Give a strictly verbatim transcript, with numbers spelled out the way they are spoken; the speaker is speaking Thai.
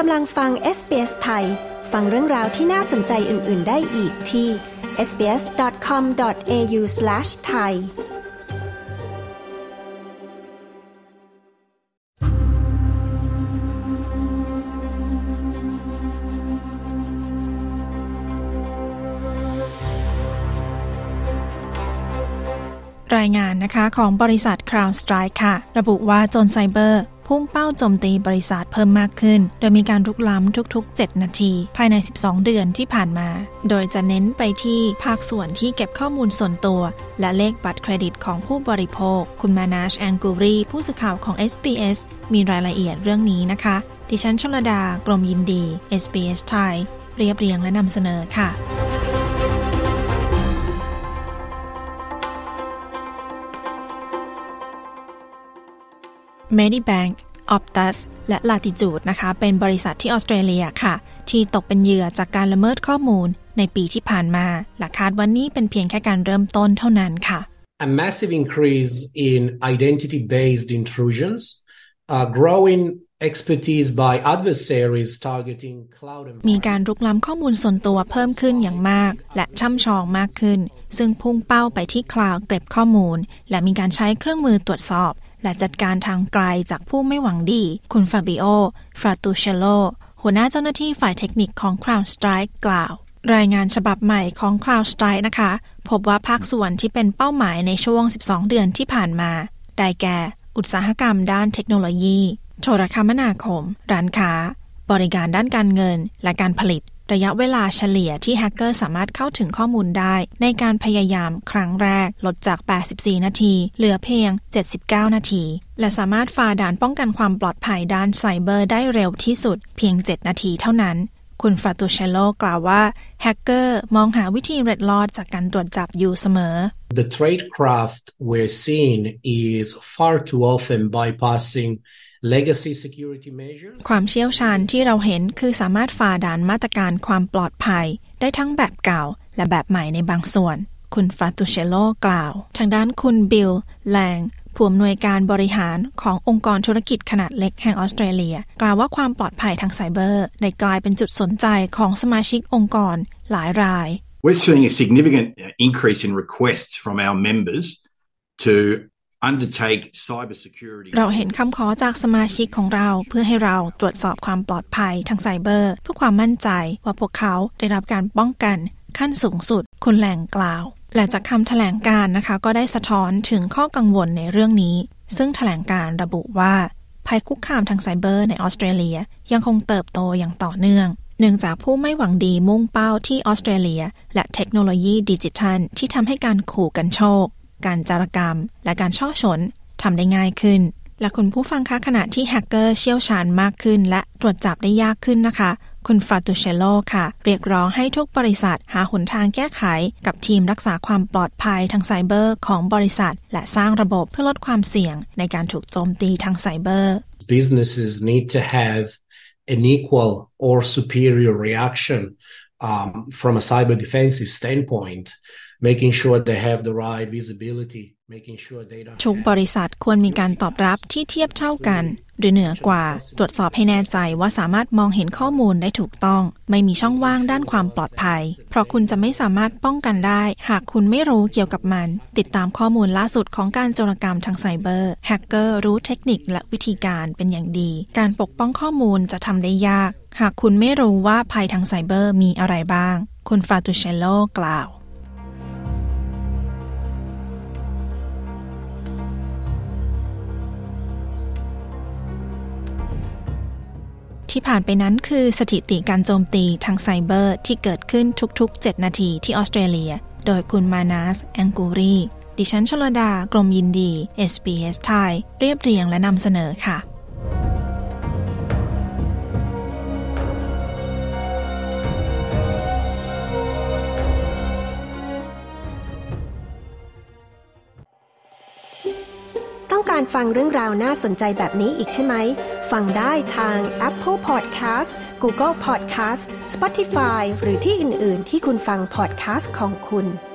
กำลังฟัง เอส บี เอส ไทยฟังเรื่องราวที่น่าสนใจอื่นๆได้อีกที่ เอส บี เอส ดอท คอม ดอท เอ ยู สแลช ไทยรายงานนะคะของบริษัท CrowdStrike ค่ะระบุว่าโจรไซเบอร์พุ่งเป้าโจมตีบริษัทเพิ่มมากขึ้นโดยมีการรุกล้ำทุกๆเจ็ดนาทีภายในสิบสองเดือนที่ผ่านมาโดยจะเน้นไปที่ภาคส่วนที่เก็บข้อมูลส่วนตัวและเลขบัตรเครดิตของผู้บริโภคคุณมานาช แองกูรีผู้สื่อข่าวของ เอส บี เอส มีรายละเอียดเรื่องนี้นะคะดิฉันชลดากรมยินดี เอส บี เอส ไทยเรียบเรียงและนำเสนอค่ะMedibank, Optus และ Latitude นะคะเป็นบริษัทที่ออสเตรเลียค่ะที่ตกเป็นเหยื่อจากการละเมิดข้อมูลในปีที่ผ่านมาและคาดว่านี่เป็นเพียงแค่การเริ่มต้นเท่านั้นค่ะ A massive increase in identity-based intrusions, uh, growing expertise by adversaries targeting cloud มีการรุกล้ำข้อมูลส่วนตัวเพิ่มขึ้นอย่างมากและช่ำชองมากขึ้นซึ่งพุ่งเป้าไปที่คลาวด์เก็บข้อมูลและมีการใช้เครื่องมือตรวจสอบและจัดการทางไกลจากผู้ไม่หวังดีคุณฟาบิโอ ฟราตูเชโลหัวหน้าเจ้าหน้าที่ฝ่ายเทคนิคของ CrowdStrike กล่าวรายงานฉบับใหม่ของ CrowdStrike นะคะพบว่าภาคส่วนที่เป็นเป้าหมายในช่วงสิบสองเดือนที่ผ่านมาได้แก่อุตสาหกรรมด้านเทคโนโลยีโทรคมนาคมร้านค้าบริการด้านการเงินและการผลิตระยะเวลาเฉลี่ยที่แฮกเกอร์สามารถเข้าถึงข้อมูลได้ในการพยายามครั้งแรกลดจากแปดสิบสี่นาทีเหลือเพียงเจ็ดสิบเก้านาทีและสามารถฝ่าด่านป้องกันความปลอดภัยด้านไซเบอร์ได้เร็วที่สุดเพียงเจ็ดนาทีเท่านั้นคุณฟาตูเชโลกล่าวว่าแฮกเกอร์มองหาวิธีเล็ดลอดจากการตรวจจับอยู่เสมอ The tradecraft we're seeing is far too often bypassing Legacy security measures ความเชี่ยวชาญที่เราเห็นคือสามารถฝ่าด่านมาตรการความปลอดภัยได้ทั้งแบบเก่าและแบบใหม่ในบางส่วนคุณฟราตูเชโลกล่าวทางด้านคุณบิลแลงผู้อำนวยการบริหารขององค์กรธุรกิจขนาดเล็กแห่งออสเตรเลียกล่าวว่าความปลอดภัยทางไซเบอร์ได้กลายเป็นจุดสนใจของสมาชิกองค์กรหลายราย We're seeing a significant increase in requests from our members to เราเห็นคำขอจากสมาชิกของเราเพื่อให้เราตรวจสอบความปลอดภัยทางไซเบอร์เพื่อความมั่นใจว่าพวกเขาได้รับการป้องกันขั้นสูงสุดคุณแหล่งกล่าวและจากคำแถลงการนะคะก็ได้สะท้อนถึงข้อกังวลในเรื่องนี้ซึ่งแถลงการระบุว่าภัยคุกคามทางไซเบอร์ในออสเตรเลียยังคงเติบโตอย่างต่อเนื่องเนื่องจากผู้ไม่หวังดีมุ่งเป้าที่ออสเตรเลียและเทคโนโลยีดิจิทัลที่ทำให้การขู่กันโชคการจารกรรมและการช่อฉนทำได้ง่ายขึ้นและคุณผู้ฟังคะขณะที่แฮกเกอร์เชี่ยวชาญมากขึ้นและตรวจจับได้ยากขึ้นนะคะคุณฟราตูเชโลค่ะเรียกร้องให้ทุกบริษัทหาหนทางแก้ไขกับทีมรักษาความปลอดภัยทางไซเบอร์ของบริษัทและสร้างระบบเพื่อลดความเสี่ยงในการถูกโจมตีทางไซเบอร์ Businesses need to have an equal or superior reaction um, from a cyber defensive standpoint.making sure they have the right visibility making sure they don't ทุกบริษัทควรมีการตอบรับที่เทียบเท่ากันหรือเหนือกว่าตรวจสอบให้แน่ใจว่าสามารถมองเห็นข้อมูลได้ถูกต้องไม่มีช่องว่างด้านความปลอดภัยเพราะคุณจะไม่สามารถป้องกันได้หากคุณไม่รู้เกี่ยวกับมันติดตามข้อมูลล่าสุดของการโจรกรรมทางไซเบอร์แฮกเกอร์รู้เทคนิคและวิธีการเป็นอย่างดีการปกป้องข้อมูลจะทำได้ยากหากคุณไม่รู้ว่าภัยทางไซเบอร์มีอะไรบ้างคุณฟราตูเชโลกล่าวที่ผ่านไปนั้นคือสถิติการโจมตีทางไซเบอร์ที่เกิดขึ้นทุกๆเจ็ดนาทีที่ออสเตรเลียโดยคุณมานาส แองกูรีดิฉันชลดากรมยินดี เอส บี เอส ไทยเรียบเรียงและนำเสนอค่ะต้องการฟังเรื่องราวน่าสนใจแบบนี้อีกใช่ไหมฟังได้ทาง Apple Podcast Google Podcast Spotify หรือที่อื่นๆที่คุณฟัง podcast ของคุณ